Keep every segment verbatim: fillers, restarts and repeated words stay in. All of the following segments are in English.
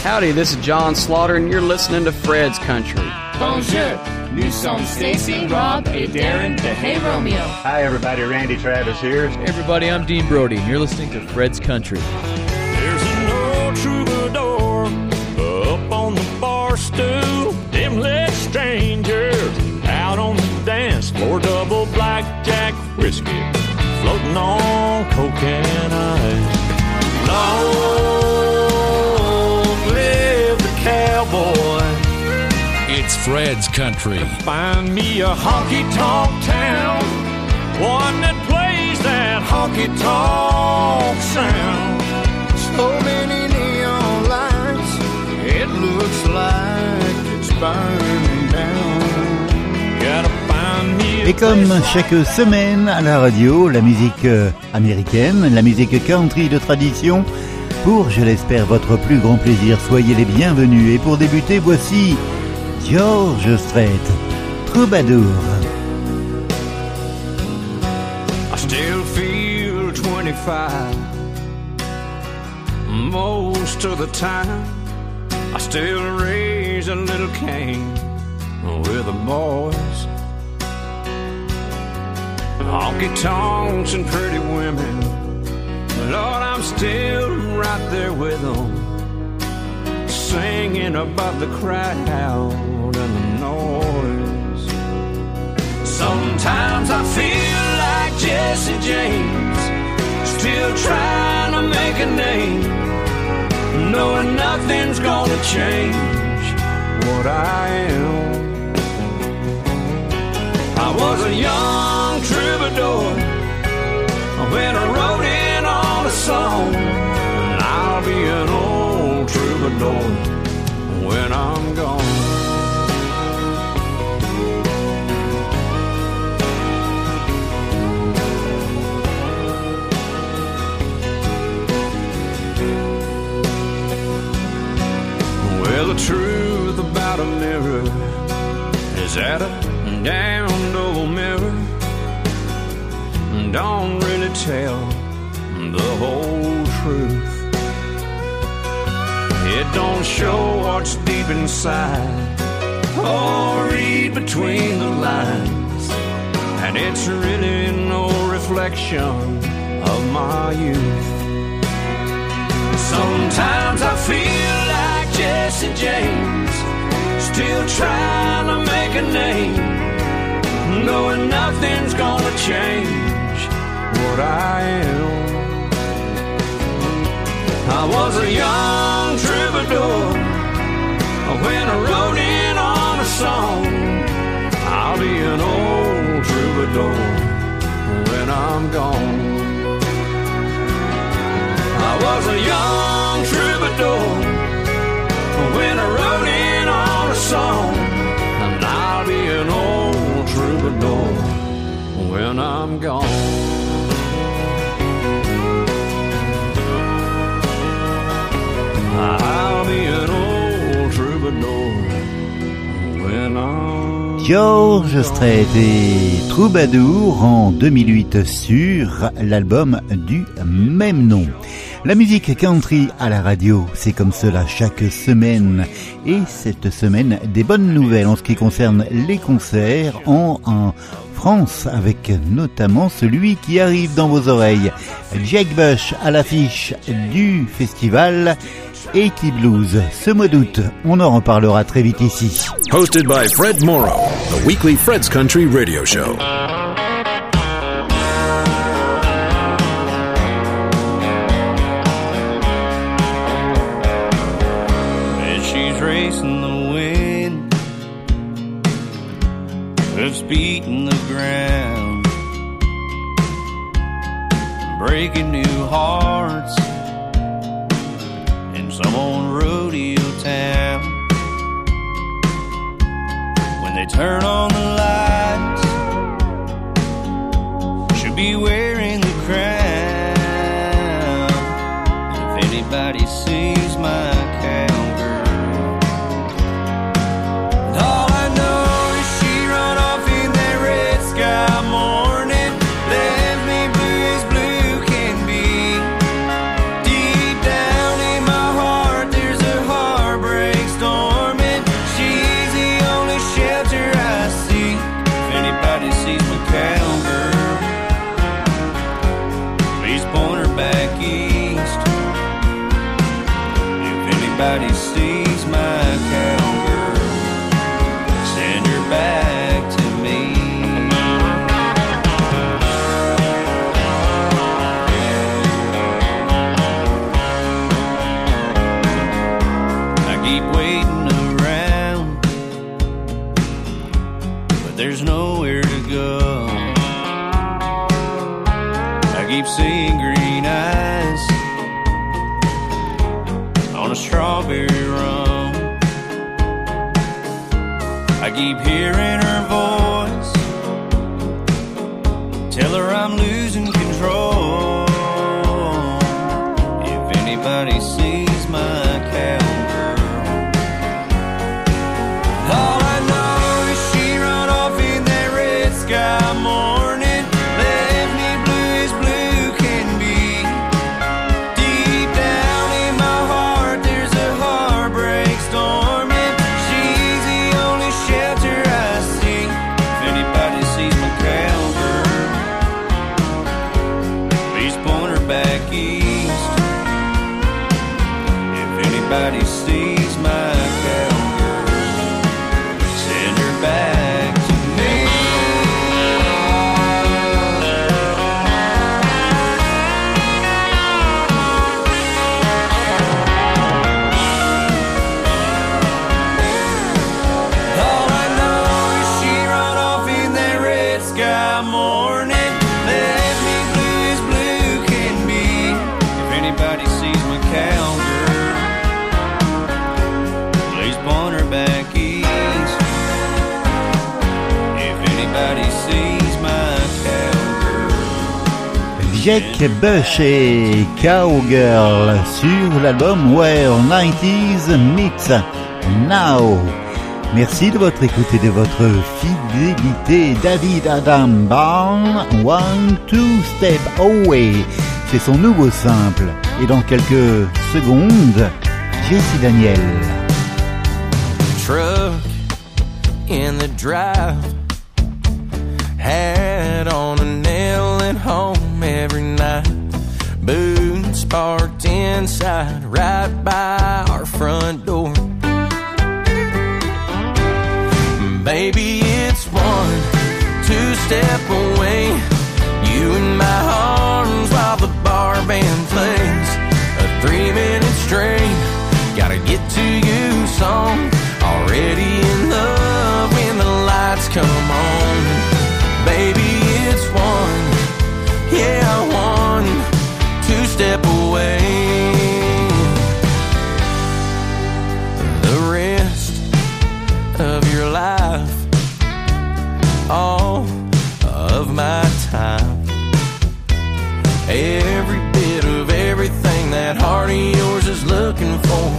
Howdy, this is John Slaughter, and you're listening to Fred's Country. Bonjour, nous sommes Stacy, Rob, et Darren de Hey Romeo. Hi everybody, Randy Travis here. Hey everybody, I'm Dean Brody, and you're listening to Fred's Country. There's an old troubadour up on the bar stool. Them lit strangers out on the dance floor. Double blackjack whiskey floating on coke and ice. Long live the cowboy. It's Fred's Country. Find me a honky-tonk town, one that plays that honky-tonk sound. So many neon lights, it looks like it's burning down. Gotta find me a Et comme chaque semaine à la radio, la musique euh, américaine, la musique country de tradition, pour, je l'espère, votre plus grand plaisir. Soyez les bienvenus. Et pour débuter, voici George Strait, Troubadour. I still feel twenty-five most of the time. I still raise a little cane with the boys. Honky-tonks and pretty women, Lord, I'm still right there with them, singing above the crowd and the noise. Sometimes I feel like Jesse James, still trying to make a name, knowing nothing's gonna change what I am. I was a young troubadour when I wrote in on a song, and I'll be an old troubadour when I'm gone. Well, the truth about a mirror is that a damned old mirror don't really tell the whole truth. It don't show what's deep inside or read between the lines, and it's really no reflection of my youth. Sometimes I feel like Jesse James, still trying to make a name, knowing nothing's gonna change what I am. I was a young troubadour when I wrote in on a song. I'll be an old troubadour when I'm gone. I was a young troubadour when I wrote in on a song, and I'll be an old troubadour when I'm gone. I'll be an old troubadour when I'm... George Strait et Troubadour en deux mille huit sur l'album du même nom. La musique country à la radio, c'est comme cela chaque semaine. Et cette semaine, des bonnes nouvelles en ce qui concerne les concerts en, en France, avec notamment celui qui arrive dans vos oreilles. Jake Bush à l'affiche du festival eighty Blues. Ce mois d'août, on en reparlera très vite ici. Hosted by Fred Morrow, the weekly Fred's Country radio show. As she's racing the wind, hoofs beating the ground, breaking new hearts some old rodeo town. When they turn on the lights, she'll be wearing the crown. If anybody sees my cowgirl, and all I know is she run off in that red sky morning, left me blue as blue can be. Deep down in my heart there's a heart anybody sees my cowgirl, send her back to me. I keep waiting around, but there's nowhere to go. I keep seeing green eyes on a strawberry rum. I keep hearing her voice, tell her I'm losing control. If anybody sees my cowgirl, all I know is she run off in that red sky morning, left me blue as blue can be. Deep down in my heart there's a heartbreak storm, and she's the only shelter I see. If anybody sees my cowgirl, please point her back east. If anybody sees my cowgirl, send her back to me. All I know is she run off in that red sky morning, left me blue as blue can be. If anybody sees my cowgirl, please point her back east. If anybody sees my cowgirl. Jack Bush et Cowgirl sur l'album Where nineties Meets Now. Merci de votre écoute et de votre fidélité. David Adam Byrne, One Two Step Away, c'est son nouveau simple. Et dans quelques secondes, Jessie Daniel. Truck in the drive, hat on a nail at home every night, boots parked inside right by our front door. Baby, it's one two-step away, you in my arms while the bar band plays a three-minute straight gotta get to you song. Already in love when the lights come on. Baby, it's one, yeah, one two-step away. The rest of your life, all of my time, every bit of everything that heart of yours is looking for.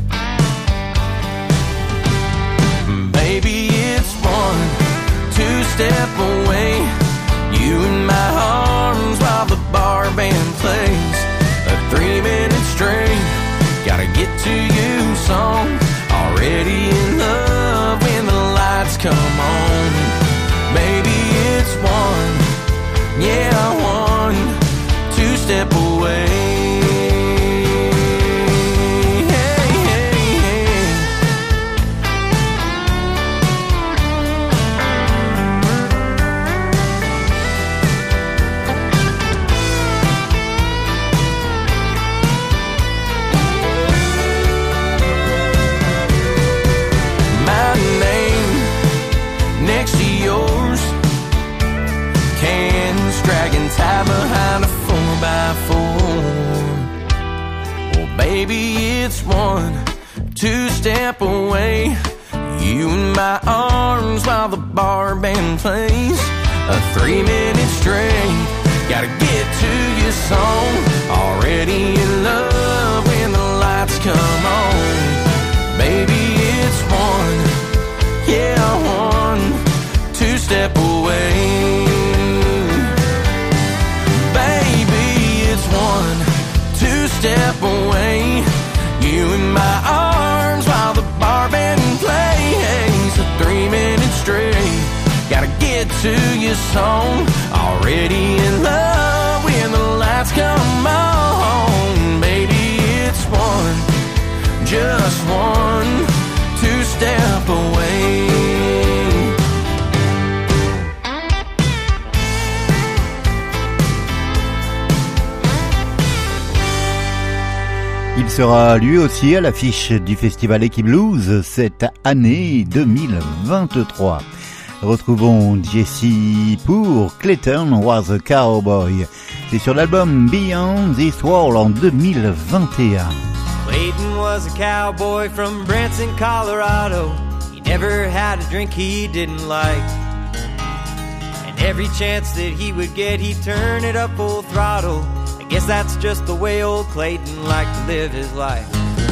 Baby, it's one two-step away, you in my arms while the bar band plays a three-minute straight gotta get to you song. Already in love when the lights come on. Baby, it's one, yeah, one two-step away. Hey, hey, hey. My name next to yours, cans dragging tied behind a four by four. Well, baby, it's one two-step away, you in my arms while the bar band plays a three-minute straight gotta get to your song. Already in love when the lights come on. Baby, it's one, yeah, one two-step away. Baby, it's one two-step away, you in my arms while the bar band plays a three-minute straight gotta get to your song. Already in love when the lights come on. Baby, it's one, just Il sera lui aussi à l'affiche du festival Equiblues cette année deux mille vingt-trois. Retrouvons Jesse pour Clayton Was a Cowboy. C'est sur l'album Beyond This World en deux mille vingt et un. Clayton was a cowboy from Branson, Colorado. He never had a drink he didn't like. And every chance that he would get, he'd turn it up full throttle. I guess that's just the way old Clayton liked to live his life.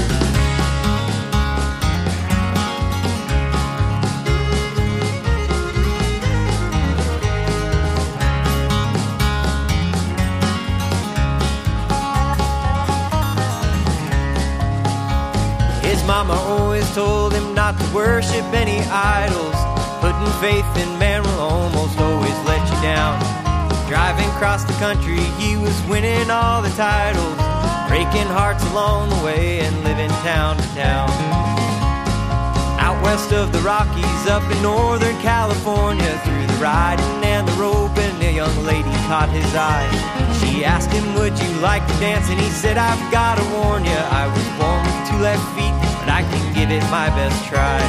His mama always told him not to worship any idols. Putting faith in man will almost always let you down. Driving across the country, he was winning all the titles, breaking hearts along the way and living town to town. Out west of the Rockies, up in Northern California, through the riding and the roping, a young lady caught his eye. She asked him, would you like to dance? And he said, I've got to warn you, I was born with two left feet, but I can give it my best try.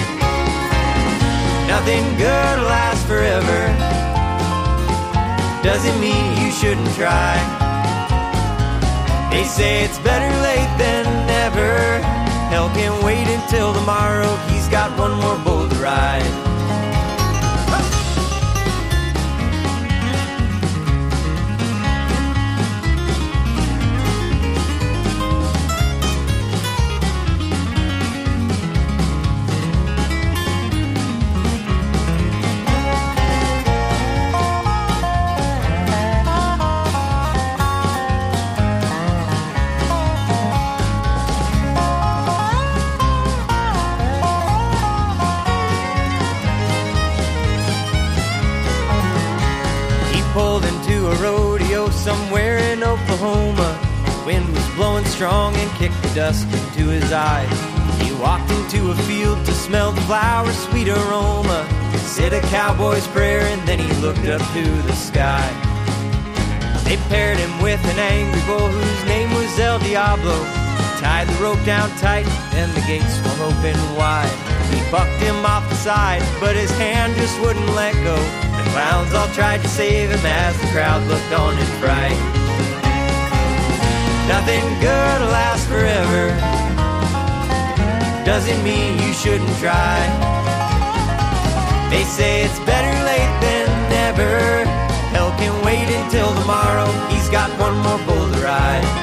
Nothing good lasts forever, doesn't mean you shouldn't try. They say it's better late than never. Hell can wait until tomorrow. He's got one more bull to ride. Somewhere in Oklahoma, the wind was blowing strong and kicked the dust into his eyes. He walked into a field to smell the flower's sweet aroma, said a cowboy's prayer, and then he looked up to the sky. They paired him with an angry bull whose name was El Diablo. Tied the rope down tight, then the gates swung open wide. He bucked him off the side, but his hand just wouldn't let go. The clowns all tried to save him as the crowd looked on in fright. Nothing good lasts forever, doesn't mean you shouldn't try. They say it's better late than never. Hell can wait until tomorrow. He's got one more bull to ride.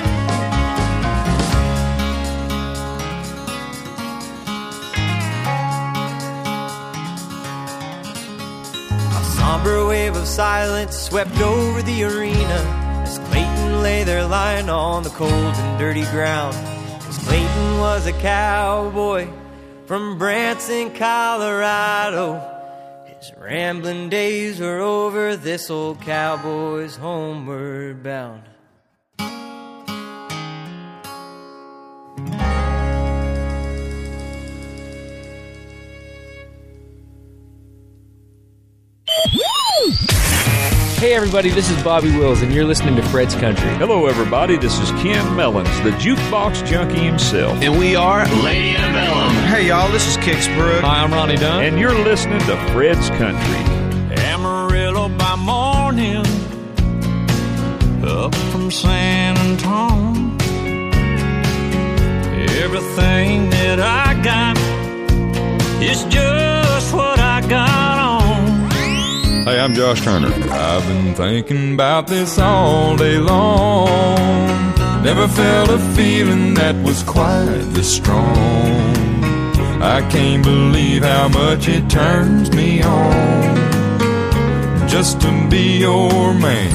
Somber wave of silence swept over the arena as Clayton lay there lying on the cold and dirty ground. Cause Clayton was a cowboy from Branson, Colorado. His rambling days were over, this old cowboy's homeward bound. Hey everybody, this is Bobby Wills, and you're listening to Fred's Country. Hello everybody, this is Ken Mellons, the jukebox junkie himself. And we are Lady Antebellum. Hey y'all, this is Kix Brooks. Hi, I'm Ronnie Dunn. And you're listening to Fred's Country. Amarillo by morning, up from San Antonio. Everything that I got is just what I got on. Hey, I'm Josh Turner. I've been thinking about this all day long. Never felt a feeling that was quite this strong. I can't believe how much it turns me on just to be your man.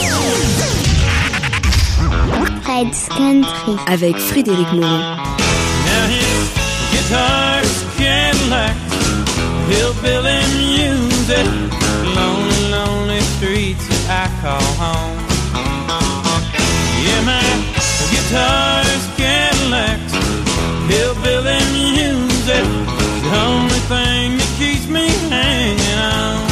Fred's Country avec Frédéric Moreau. Now his guitar's Cadillac, hillbilly music, lonely, lonely streets that I call home. Yeah, my guitar's Cadillacs, hillbilly music, the only thing that keeps me hanging on.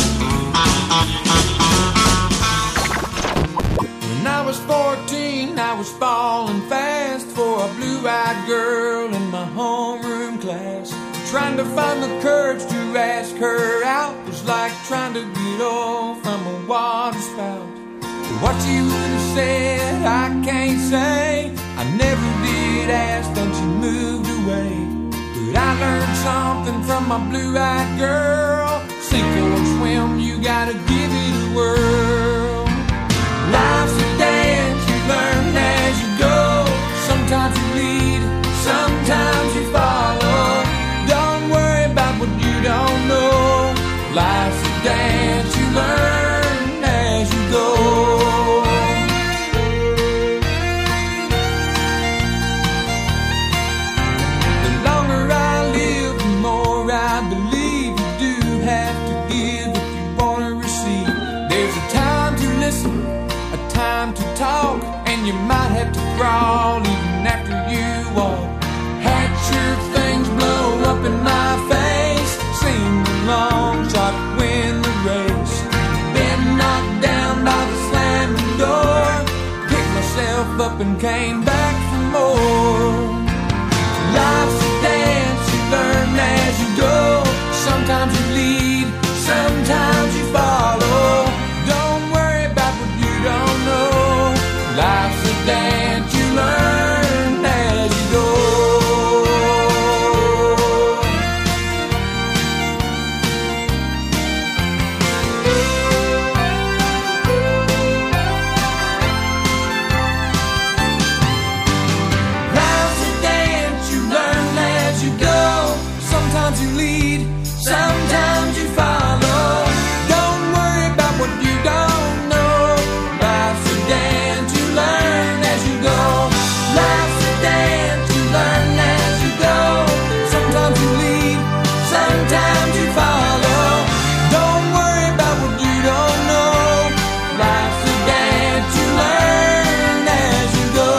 When I was fourteen, I was falling fast for a blue-eyed girl in my homeroom class. Trying to find the courage to ask her out was like trying to get off from a water spout. But what she would have said, I can't say. I never did ask, then she moved away. But I learned something from my blue-eyed girl. Sink or swim, you gotta give it a whirl. Life's a dance, you learn as you go. Sometimes you lead, sometimes you follow. Don't worry about what you don't know. Life's a dance, you learn as you go. The longer I live, the more I believe you do have to give if you want to receive. There's a time to listen, a time to talk, and you might have to crawl even after you walk. Had your things blow up in my face, sing the long shot, win the race. Been knocked down by the slamming door, picked myself up and came back for more. Life's a dance, you learn as you go. Sometimes you lead, sometimes you follow. Don't worry about what you don't know. Life's a dance, you learn as you go. Life's a dance, you learn as you go. Sometimes you lead, sometimes you follow. Don't worry about what you don't know. Life's a dance, you learn as you go. Life's a dance, you learn as you go. Sometimes you lead, sometimes you follow. Don't worry about what you don't know. Life's a dance, you learn as you go.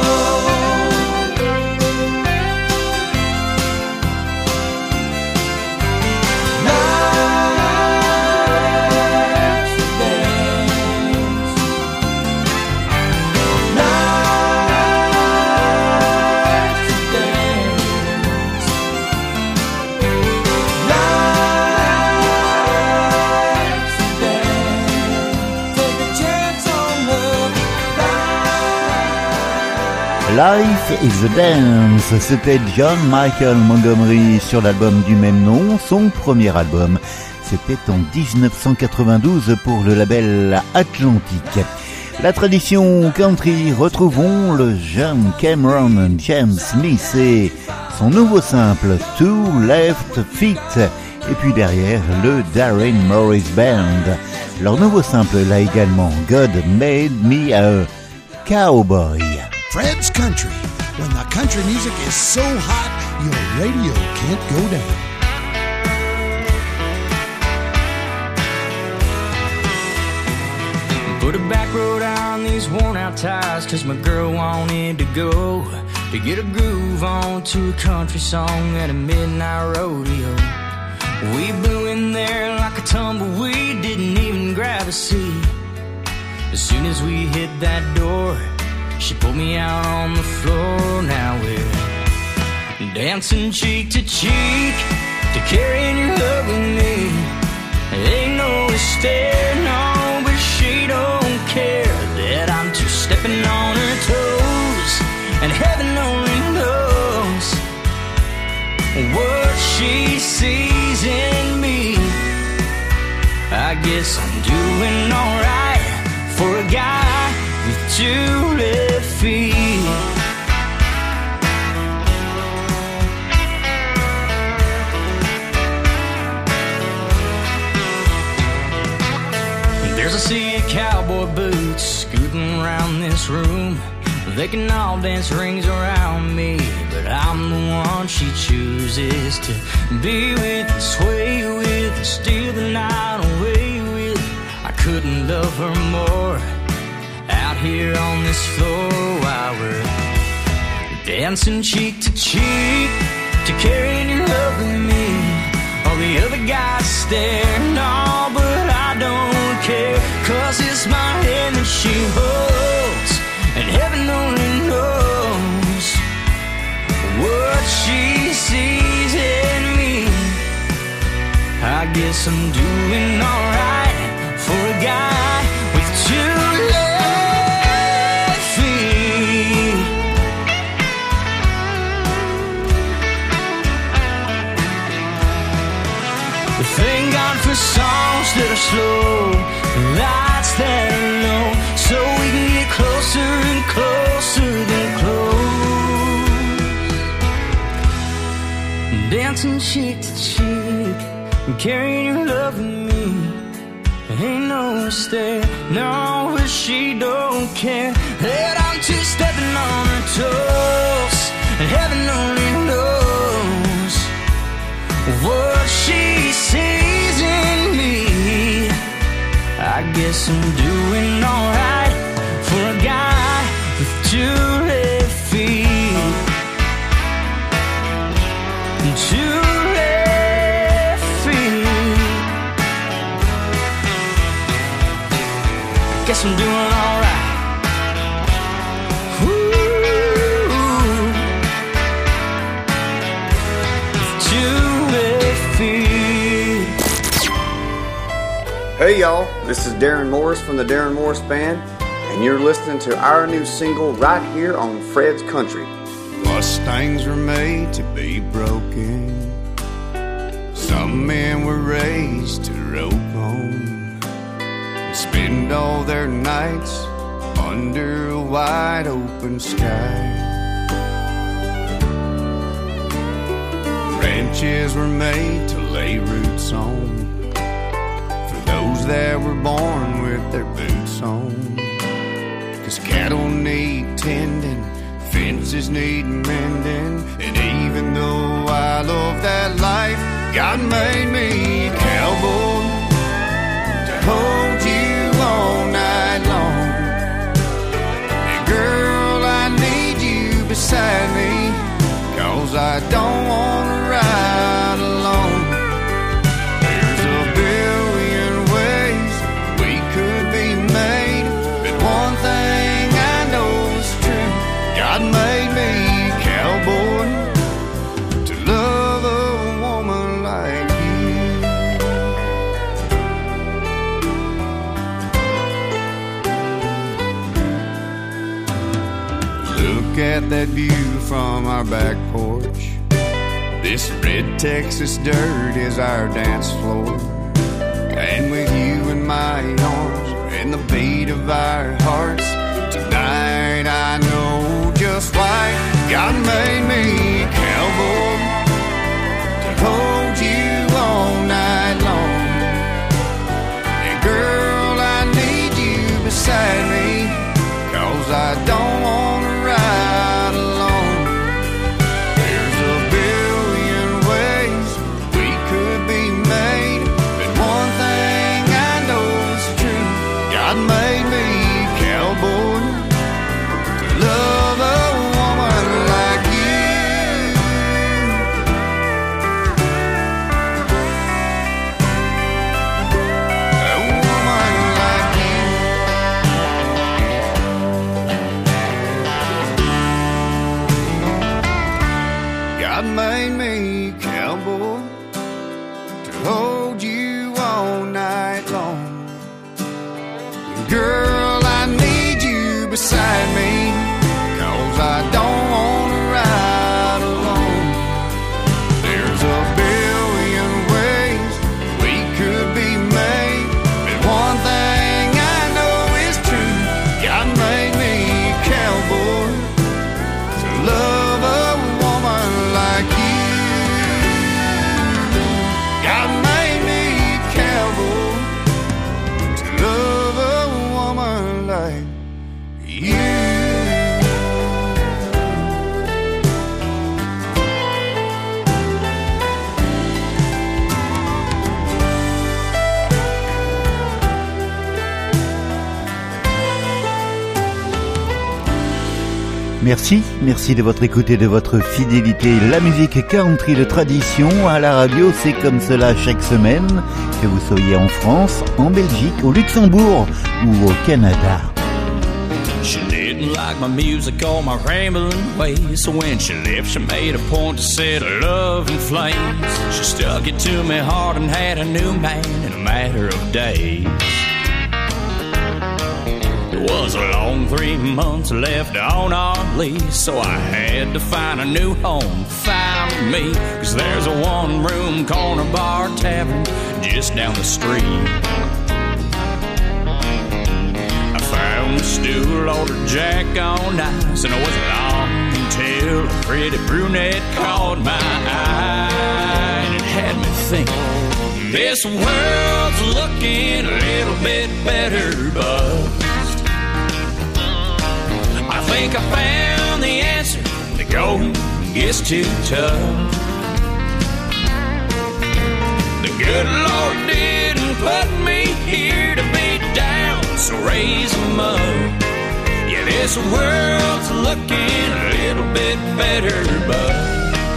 Life is a Dance, c'était John Michael Montgomery sur l'album du même nom, son premier album. C'était en dix-neuf cent quatre-vingt-douze pour le label Atlantic. La tradition country, retrouvons le jeune Cameron James Smith et son nouveau simple Two Left Feet. Et puis derrière, le Darren Morris Band. Leur nouveau simple là également, God Made Me a Cowboy. Fred's Country. When the country music is so hot, your radio can't go down. Put a back road on these worn out tires, cause my girl wanted to go to get a groove on to a country song at a midnight rodeo. We blew in there like a tumbleweed, didn't even grab a seat. As soon as we hit that door, she pulled me out on the floor. Now we're dancing cheek to cheek to carrying your love with me. Ain't no stair, no, but she don't care that I'm just stepping on her toes. And heaven only knows what she sees in me. I guess I'm doing alright for a guy with two left feet. There's a sea of cowboy boots scooting around this room. They can all dance rings around me, but I'm the one she chooses to be with and sway with and steal the night away with. I couldn't love her more out here on this floor while we're dancing cheek to cheek to carrying your love with me. All the other guys stare, no, but I don't care, cause it's my hand that she holds, and heaven only knows guess I'm doing alright for a guy with two left feet. Thank God for songs that are slow, lights that are low, so we can get closer and closer than close. Dancing cheek to cheek, and carrying your love with me. Ain't no mistake, no, but she don't care that I'm two-stepping on her toes, and heaven only knows what she sees in me. I guess I'm doing alright for a guy with two left feet. Two left feet. Guess I'm doing alright. Hey y'all, this is Darren Morris from the Darren Morris Band, and you're listening to our new single right here on Fred's Country. Mustangs were made to be broken. Some men were raised to rope on and spend all their nights under a wide open sky. Ranches were made to lay roots on, those that were born with their boots on. 'Cause cattle need tending, fences need mending, and even though I love that life, God made me a cowboy to hold you all night long. And girl, I need you beside me, 'cause I don't wanna ride alone. There's a billion ways we could be made, but one thing I know is true: God made me a cowboy to love a woman like you. Look at that view from our back porch. This red Texas dirt is our dance floor, and with you in my arms and the beat of our hearts, tonight I know just why God made me a cowboy to hold you all night long. And girl, I need you beside me, 'cause I don't wanna ride alone. There's a billion ways we could be made, but one thing I know is true: God made me a cowboy to love a woman like you. A woman like you. God made me a cowboy to hold you all night long. Girl, I need you beside me, 'cause I don't wanna ride alone. There's a billion ways we could be made, but one thing I know is true: God made me a cowboy to love a woman like you. God made me a cowboy to love a woman like you. Merci, merci de votre écoute et de votre fidélité. La musique country de tradition à la radio, c'est comme cela chaque semaine, que vous soyez en France, en Belgique, au Luxembourg ou au Canada. She knit didn't like my music or my rambling ways. So when she left, she made a point to set her love in flames. She stuck it to me hard and had a new man in a matter of days. It was a long three months left on our lease, so I had to find a new home, find me. Cause there's a one-room corner bar tavern just down the street. I found a stool, ordered Jack on ice, and it wasn't long until a pretty brunette caught my eye. And it had me thinking, this world's looking a little bit better, but I think I found the answer. The going gets too tough. The good Lord didn't put me here to be down, so raise 'em up. Yeah, this world's looking a little bit better, but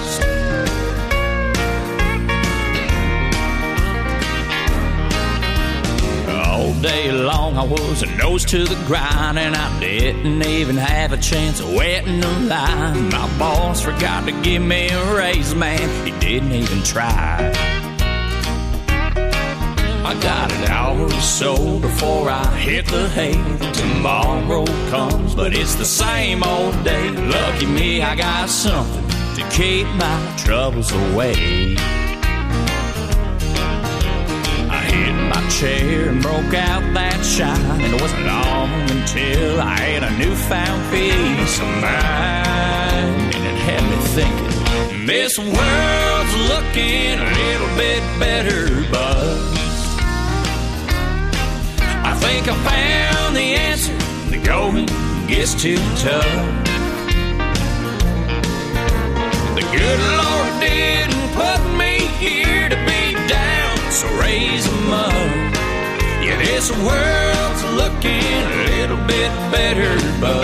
all day long I was a nose to the grind, and I didn't even have a chance of wetting the line. My boss forgot to give me a raise, man, he didn't even try. I got an hour or so before I hit the hay. Tomorrow comes, but it's the same old day. Lucky me, I got something to keep my troubles away. Hit my chair and broke out that shine, and it wasn't long until I had a newfound peace of mind. And it had me thinking, this world's looking a little bit better, but I think I found the answer. The going gets too tough. The good Lord didn't put me here to be down, so raise 'em up. Yeah, this world's looking a little bit better, but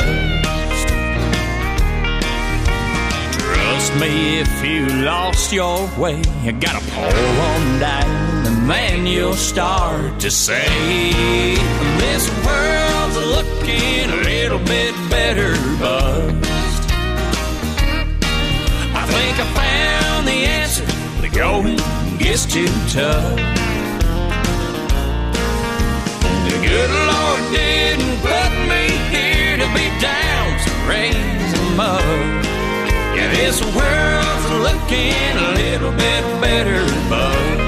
trust me, if you lost your way, you gotta pull on down, and then you'll start to say, this world's looking a little bit better, but I think I found the answer. The going gets too tough. The good Lord didn't put me here to be down, so raise 'em up. Yeah, this world's looking a little bit better, but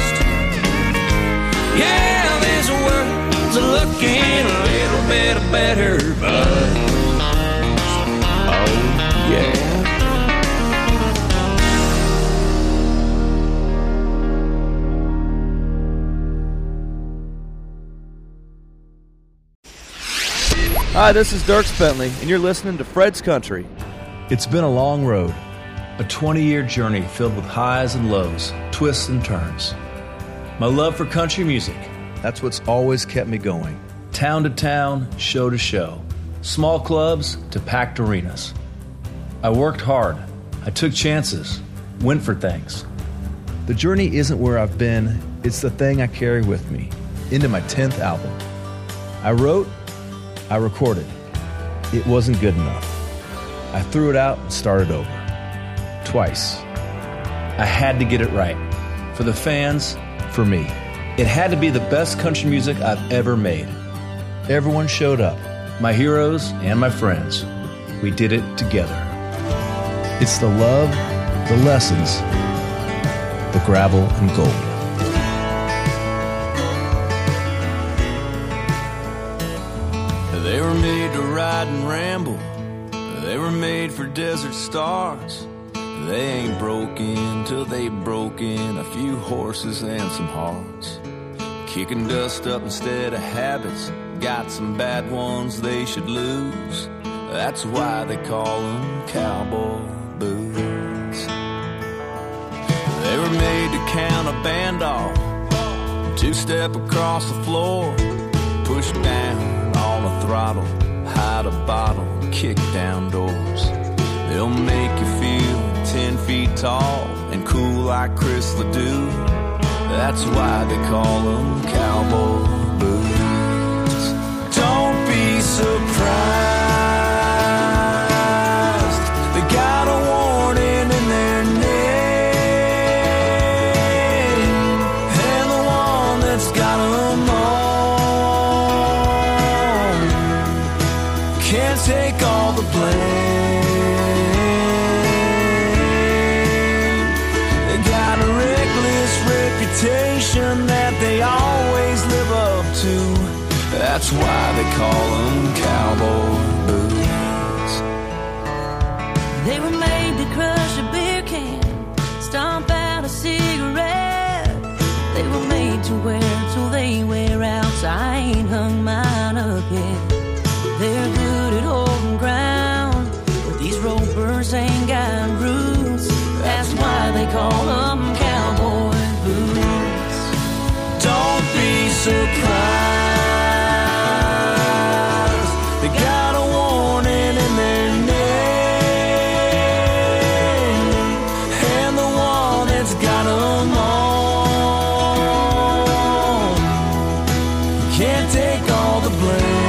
yeah, this world's looking a little bit better, but oh yeah. Hi, this is Dirks Bentley, and you're listening to Fred's Country. It's been a long road, a twenty-year journey filled with highs and lows, twists and turns. My love for country music, that's what's always kept me going. Town to town, show to show, small clubs to packed arenas. I worked hard, I took chances, went for things. The journey isn't where I've been, it's the thing I carry with me into my tenth album. I wrote, I recorded. It wasn't good enough. I threw it out and started over. Twice. I had to get it right. For the fans, for me. It had to be the best country music I've ever made. Everyone showed up. My heroes and my friends. We did it together. It's the love, the lessons, the gravel and gold. They were made to ride and ramble. They were made for desert stars. They ain't broken till they've broken a few horses and some hearts. Kicking dust up instead of habits. Got some bad ones they should lose. That's why they call them cowboy boots. They were made to count a band off. Two-step across the floor. Push down on the throttle, hide a bottle, kick down doors. They'll make you feel ten feet tall and cool like Chris Ledoux. That's why they call them cowboy boots. Don't be surprised That's why they call them cowboy boots. They were made to crush a beer can, stomp out a cigarette. They were made to wear till they wear out, so I ain't hung mine up yet. They're good at holding ground, but these ropers ain't got roots. That's why they call them cowboy boots. Don't be surprised, they got a warning in their name, and the one that's got them all can't take all the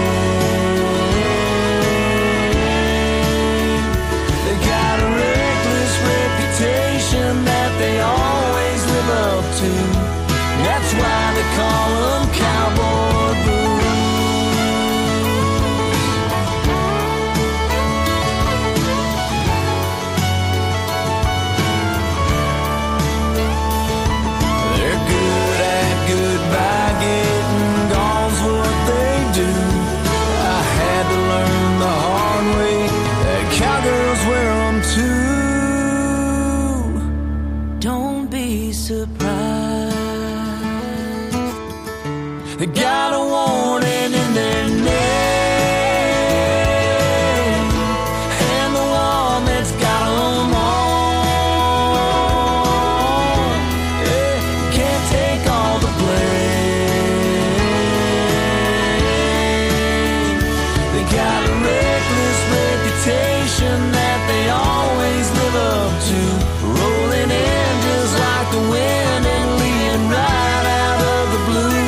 blame. They got a reckless reputation that they always live up to. That's why they call them cowboy boots. They're good at goodbye, getting gone's what they do. I had to learn the hard way that cowgirls wear them too. Don't be surprised, they got a warning in their name, and the one that's got them all, yeah, can't take all the blame. They got a reckless reputation that they always live up to, rolling in just like the wind and leaving right out of the blue.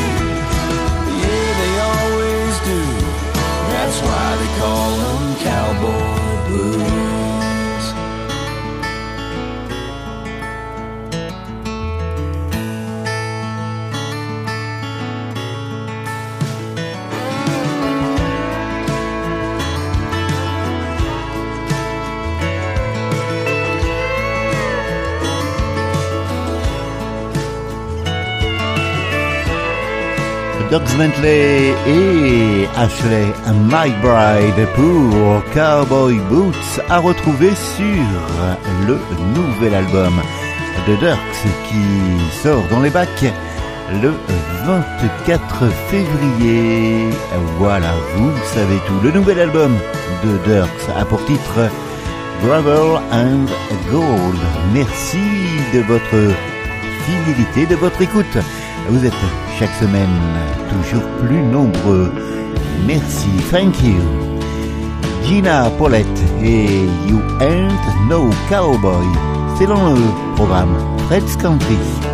That's why they call them cowboy blues. Doug Bentley et Ashley McBride pour Cowboy Boots, à retrouver sur le nouvel album de Dierks qui sort dans les bacs le vingt-quatre février. Voilà, vous savez tout. Le nouvel album de Dierks a pour titre Gravel and Gold. Merci de votre fidélité, de votre écoute. Vous êtes chaque semaine toujours plus nombreux. Merci, thank you. Gina Paulette et You Ain't No Cowboy. C'est dans le programme Fred's Country.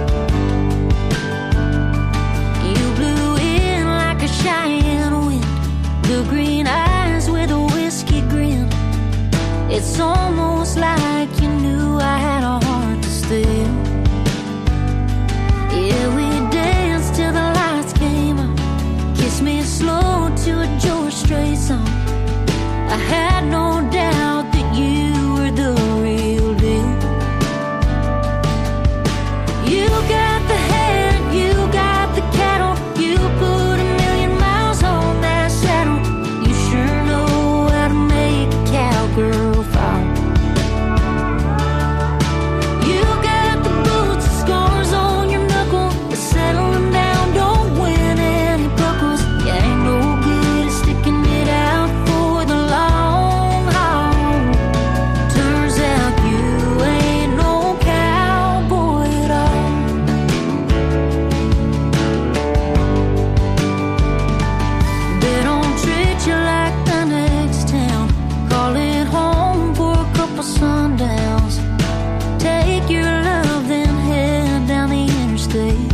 you blew in like a Cheyenne wind, the green eyes with a whiskey grin. It's almost like you knew I had a heart to steal. Yeah, we danced till the lights came on. Kiss me slow to a George Strait song. I had no doubt that you were the real deal. You got the hair, you got the cattle, you put a million miles on that saddle. You sure know how to make a cowgirl fall. You got the boots and scars on your knuckle, but settling down don't win any buckles. You ain't no good at sticking it out for the long haul. Turns out you ain't no cowboy at all. They don't treat you like the next town. Call it home for a couple sundowns. Take your love, then head down the interstate.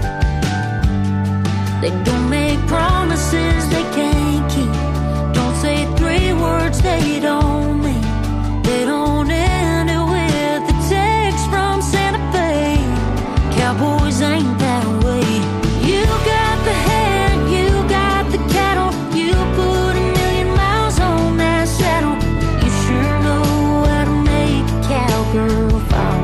They don't make promises they can't keep. Don't say three words they don't mean. They don't end it with a text from Santa Fe. Cowboys ain't that way. You got the hair, you got the cattle, you put a million miles on that saddle. You sure know how to make a cowgirl fall.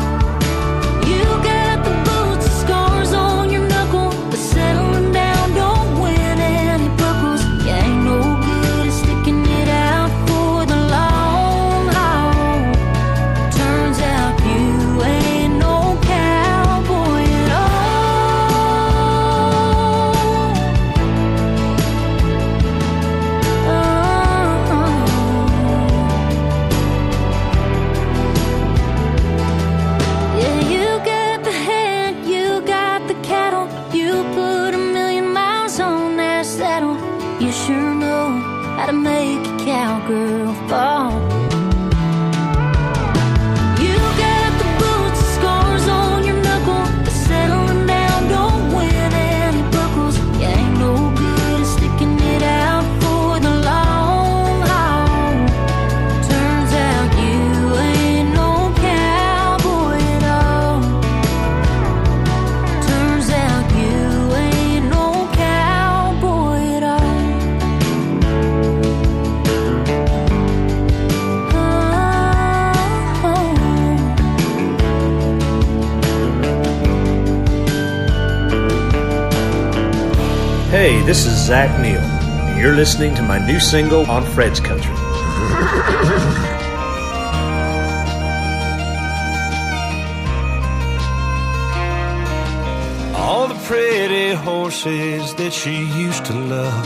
You got the boots and scars on your knuckle, but settling down don't Hey, this is Zach Neal, and you're listening to my new single on Fred's Country. All the pretty horses that she used to love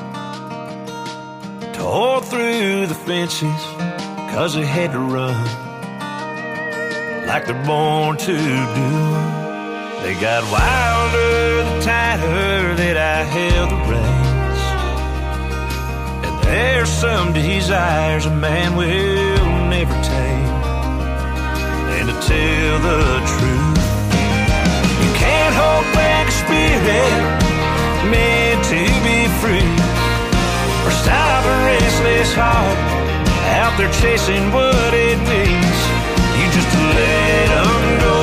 tore through the fences 'cause they had to run like they're born to do. They got wilder the tighter that I held the reins, and there's some desires a man will never tame. And to tell the truth, you can't hold back a spirit meant to be free, or stop a restless heart out there chasing what it means. You just let them go,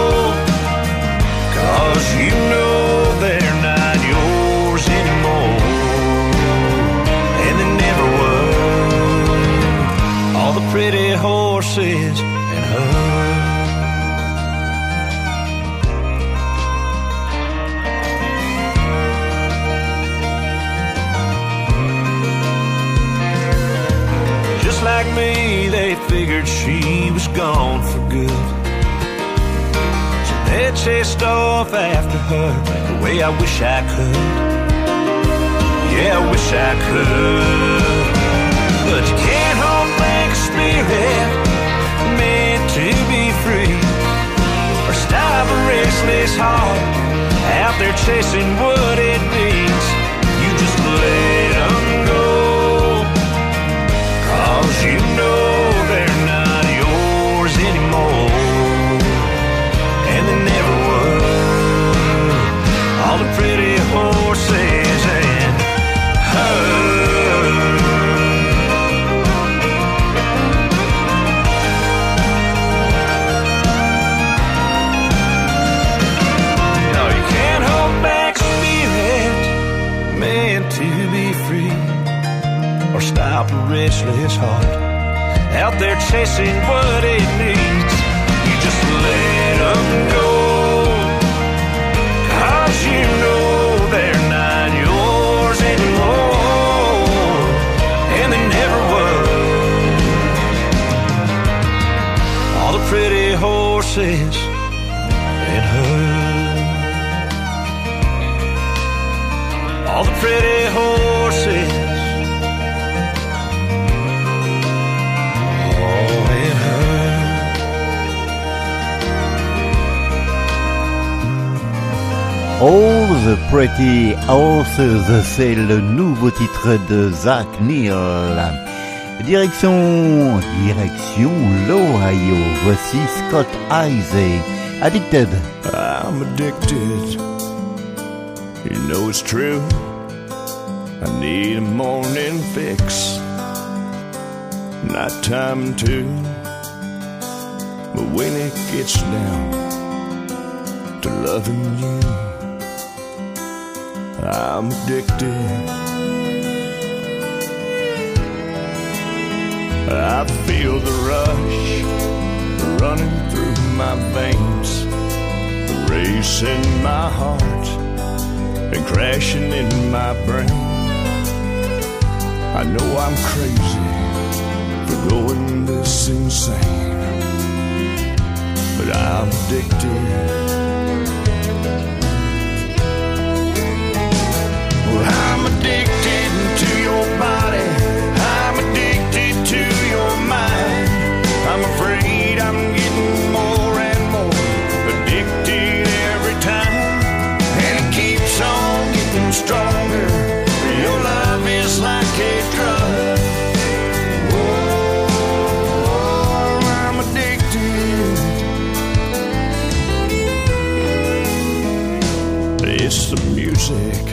'cause you know they're not yours anymore, and they never were. All the pretty horses and her. Just like me, they figured she was gone for good, so they chased off after her the way I wish I could. Yeah, I wish I could. But you can't hold back a spirit meant to be free, or stop a restless heart out there chasing what it means. You just let them go, 'cause you know they're not yours anymore, and they never were. All the pretty horses and her. No, you can't hold back spirit meant to be free, or stop a restless heart out there chasing what it needs. You just let them go, 'cause you know they're not yours anymore, and they never were. All the pretty horses and her. All the pretty horses. All the Pretty Horses, c'est le nouveau titre de Zach Neal. Direction, direction l'Ohio. Voici Scott Isaac, Addicted. I'm addicted, you know it's true. I need a morning fix, nighttime too. But when it gets down to loving you, I'm addicted. I feel the rush running through my veins, racing my heart and crashing in my brain. I know I'm crazy for going this insane, but I'm addicted. I'm addicted to your body, I'm addicted to your mind. I'm afraid I'm getting more and more addicted every time, and it keeps on getting stronger. Your love is like a drug. Oh, I'm addicted. It's the music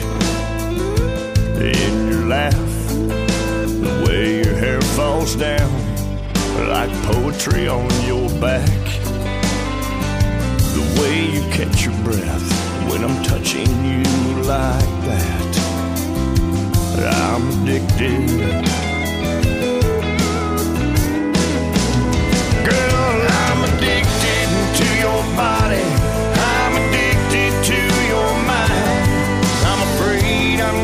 in your laugh, the way your hair falls down like poetry on your back, the way you catch your breath when I'm touching you like that. I'm addicted. Girl, I'm addicted to your body, I'm addicted to your mind. I'm afraid I'm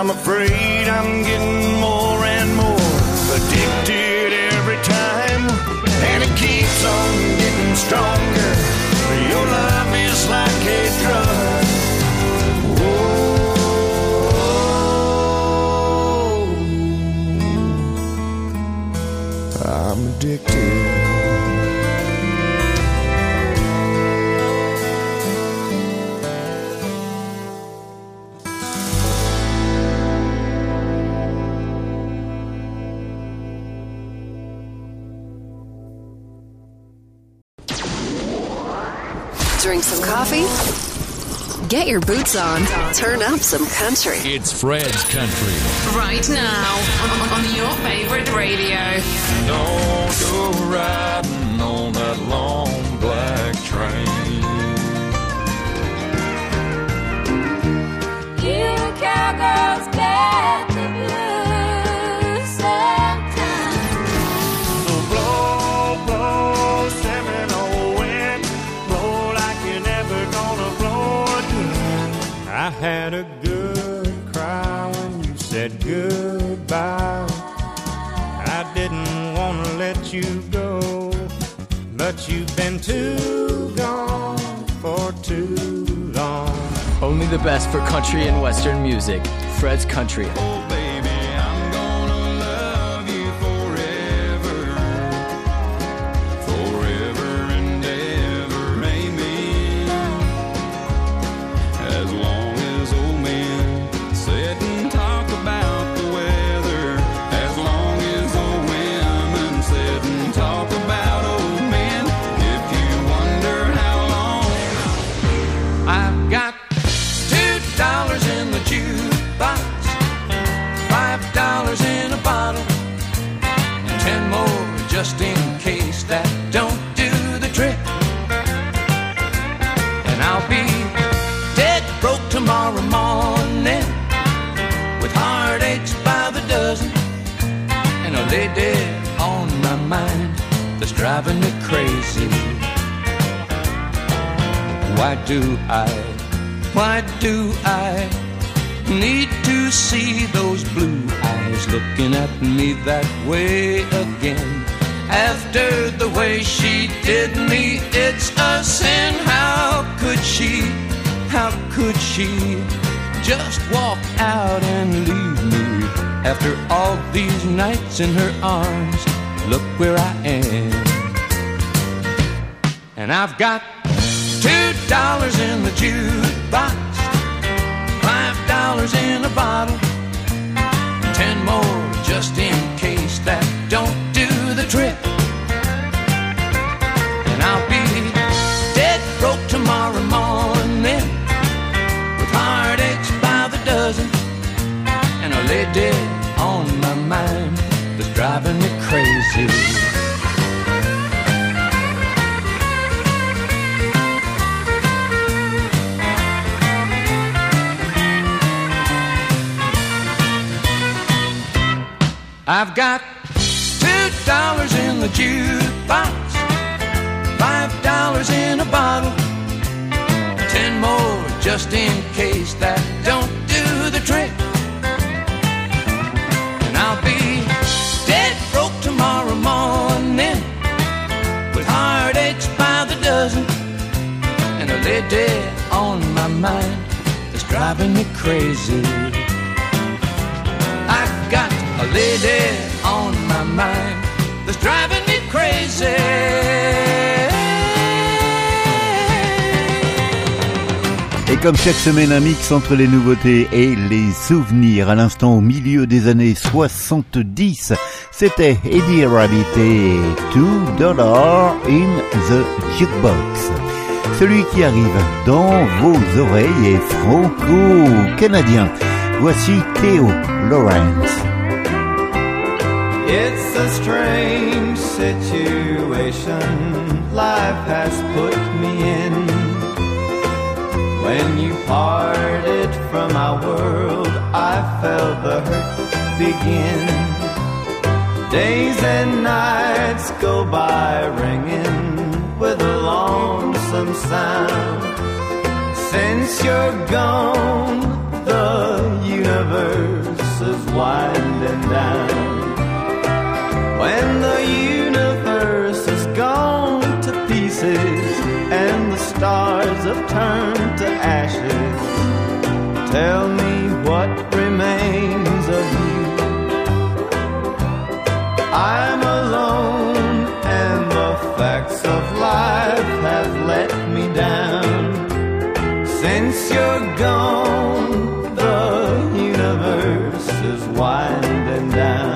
I'm afraid I'm getting more and more addicted every time, and it keeps on getting stronger. Your love is like a drug. Oh, I'm addicted. Drink some coffee? Get your boots on. Turn up some country. It's Fred's Country. Right now on, on your favorite radio. Don't go riding on that long black train. You cowgirls get the blues sometimes. So blow, blow, Seminole wind, blow like you're never gonna blow again. I had a good cry when you said goodbye. I didn't want to let you go, but you've been too gone for too long. Only the best for country and western music. Fred's Country. Oh, baby, I'm gonna love you forever. Forever and ever, amen. As long as old men sit and talk about the weather. As long as old women sit and talk about old men. If you wonder how long I've got two dollars in the jukebox, five dollars in a bottle, ten more just in case that don't do the trick. And I'll be dead broke tomorrow morning, with heartaches by the dozen, and a lay dead on my mind that's driving me crazy. Why do I, why do I need to see those blue eyes looking at me that way again? After the way she did me, it's a sin. How could she, how could she just walk out and leave me? After all these nights in her arms, look where I am. And I've got two dollars in the jukebox, five dollars in a bottle, ten more just in case that don't do the trick. And I'll be dead broke tomorrow morning, with heartaches by the dozen, and a lay dead on my mind that's driving me crazy. I've got two dollars in the jukebox, five dollars in a bottle, ten more just in case that don't do the trick. And I'll be dead broke tomorrow morning, with heartaches by the dozen, and a lay dead on my mind that's driving me crazy. I've got a lady on my mind that's driving me crazy. Et comme chaque semaine, un mix entre les nouveautés et les souvenirs. À l'instant, au milieu des années soixante-dix, c'était Eddie Rabbit et two dollars in the Jukebox. Celui qui arrive dans vos oreilles est franco-canadien. Voici Theo Lawrence. It's a strange situation life has put me in. When you parted from our world, I felt the hurt begin. Days and nights go by ringing with a lonesome sound. Since you're gone, the the universe is winding down. When the universe is gone to pieces and the stars have turned to ashes, tell me what remains of you. I'm alone and the facts of life have let me down. Since you're gone, the universe is winding down.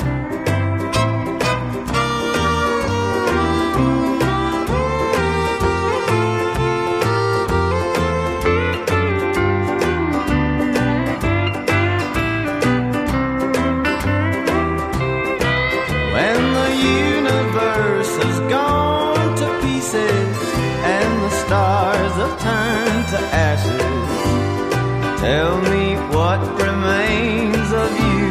Turn to ashes. Tell me what remains of you.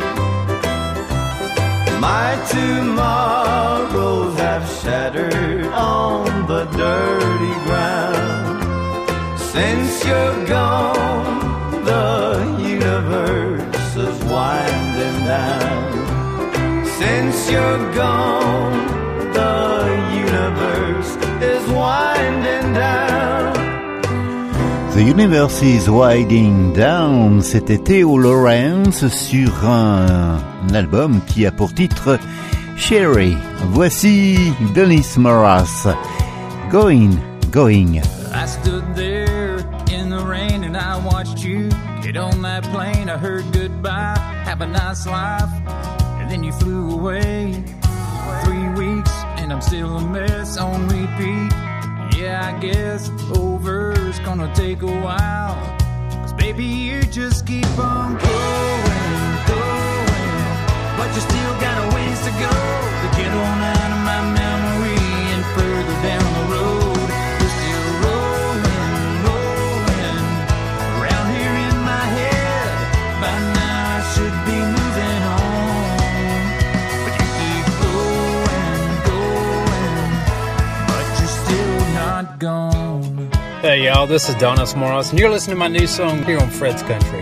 My tomorrows have shattered on the dirty ground. Since you're gone, the universe is winding down. Since you're gone, the universe is winding down. The Universe is Winding Down, c'était Theo Lawrence sur un, un album qui a pour titre Sherry. Voici Dennis Morris, Going, Going. I stood there in the rain and I watched you get on that plane. I heard goodbye, have a nice life, and then you flew away. Three weeks and I'm still a mess on repeat. Yeah, I guess over's gonna take a while, 'cause baby you just keep on going, going, but you still got a ways to go to get on out of my memory and further down the road. You're still rolling, rolling around here in my head. By now I should be moving on, but you keep going, going, but you're still not gone. Hey y'all, this is Dennis Morris, and you're listening to my new song here on Fred's Country.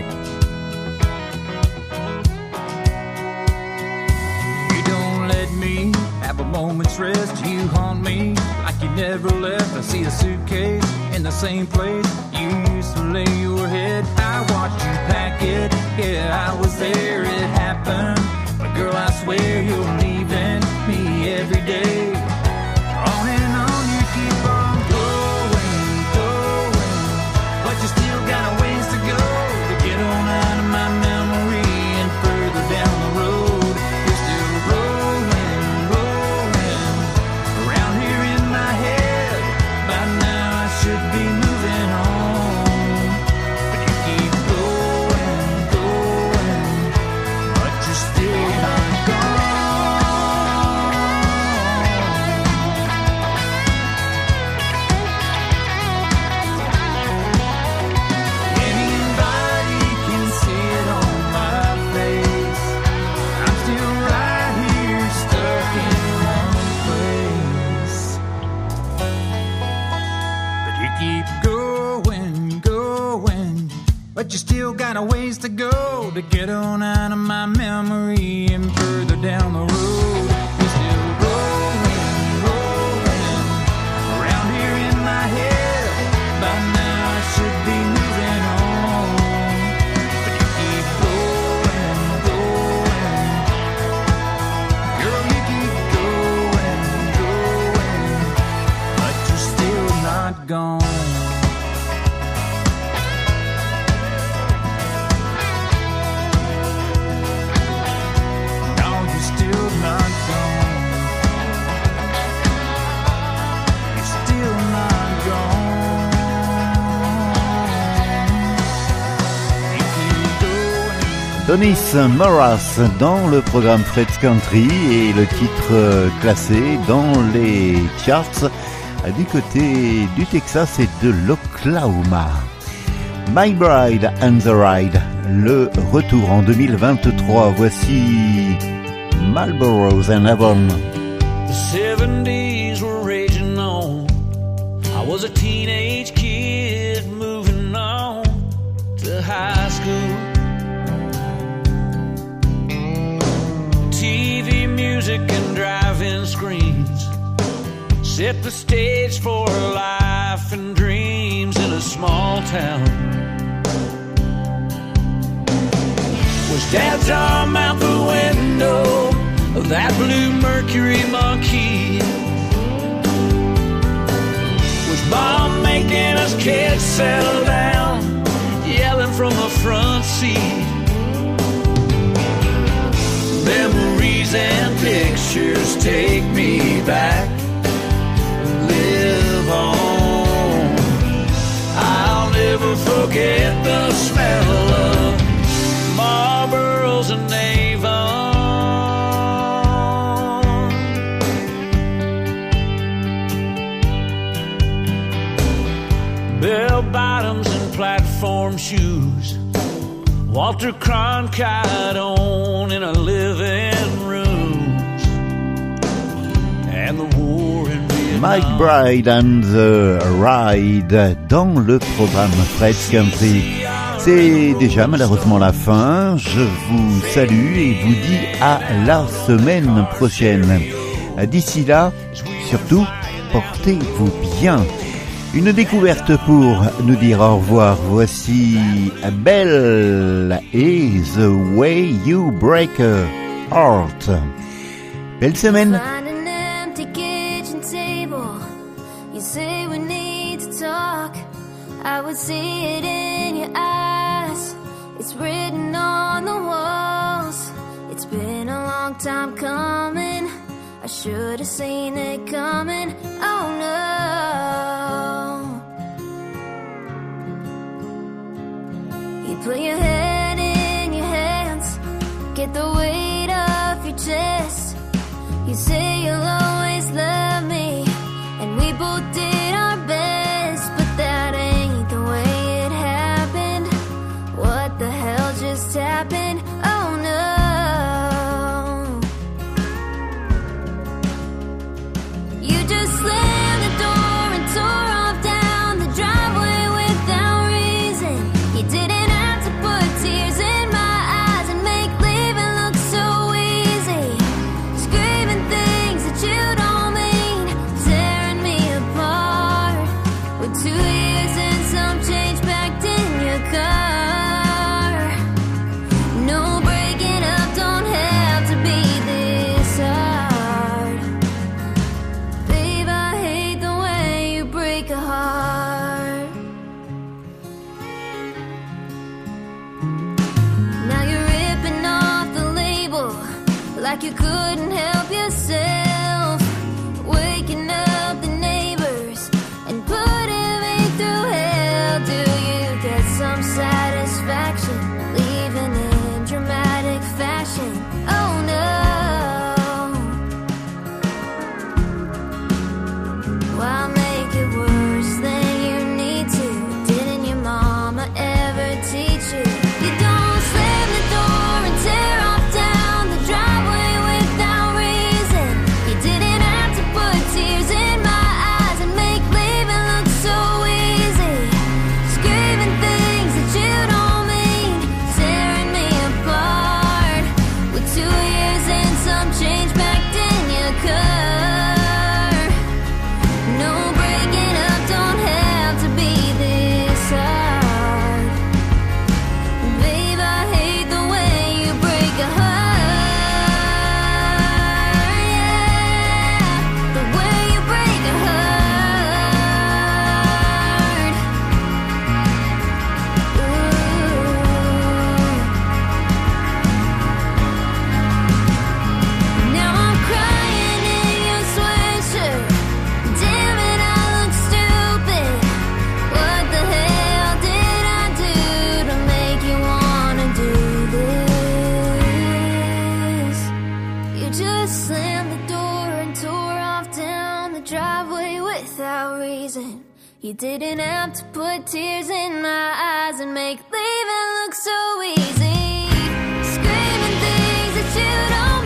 You don't let me have a moment's rest. You haunt me like you never left. I see a suitcase in the same place you used to lay your head. I watched you pack it, yeah, I was there, it happened. But girl, I swear you're leaving me every day. On and on you keep on going, going, but you still got a ways to go to get on out of my memory and further down the road. You're still rolling, rolling around here in my head. By now I should be moving on, but you keep going, going, but you're still not gone. Anybody can see it on my face. I'm still right here stuck in one place. But you keep going, going, but you still got a ways to go to get on out of my memory and further down the road. You're still rolling, rolling around here in my head. By now I should be moving on, but you keep going, going. Girl, you keep going, going, but you're still not gone. No, you're still not gone. You're still not gone. You keep going. Dennis Morris dans le programme Fred's Country et le titre euh, classé dans les charts euh, du côté du Texas et de l'Oklahoma. My Bride and the Ride, le retour en deux mille vingt-trois. Voici Marlboro's and Avon. The seventies were raging on. I was a teenage kid moving on to of high school. T V, music, and drive-in screens set the stage for life and dreams in a small town. Was Dad's arm out the window of that blue Mercury Marquis? Was Mom making us kids settle down, yelling from the front seat? Memories and pictures take me back, live on. I'll never forget the smell of Marlboros and Avon. Bell bottoms and platform shoes, Walter Cronkite on in a living rooms, and the war in Vietnam. Mike Bride and the Ride dans le programme Fred's Country. C'est déjà malheureusement la fin. Je vous salue et vous dis à la semaine prochaine. D'ici là, surtout, portez-vous bien. Une découverte pour nous dire au revoir. Voici Belle et The Way You Break a Heart. Belle semaine. Find an empty kitchen table. You say we need to talk. I would see it in your eyes. It's written on the walls. It's been a long time coming. I should have seen it coming. Oh no. You put your head in your hands, get the weight off your chest. You say you'll always love me, and we both did our best, but that ain't the way it happened. What the hell just happened? Oh no. You just slammed the door and tore off down the driveway without reason. You didn't have to put tears in my eyes and make leaving look so easy. Screaming things that you don't mean, tearing me apart. With two years and some change packed in your car. No breaking up, don't have to be this hard. Babe, I hate the way you break a heart. Now you're ripping off the label like you couldn't help yourself. Waking up the neighbors and putting me through hell. Do you get some satisfaction leaving in dramatic fashion? Oh no. Why make it worse than you need to? Didn't your mama ever teach you? You don't slam the door and tear off down the driveway without reason. You didn't have to put tears in my eyes and make leaving look so easy. Screaming things that you don't mean, tearing me apart. With two years and some change packed in your car. No breaking up, don't have to be this hard. Babe, I hate the way you break a heart. Yeah, the way you break a heart. Ooh. Now I'm crying in your sweatshirt. Damn it, I look stupid. What the hell did I do to make you wanna do this? You just slammed the door and tore off down the driveway without reason. You didn't have to put tears in my eyes and make leaving look so easy. Screaming things that you don't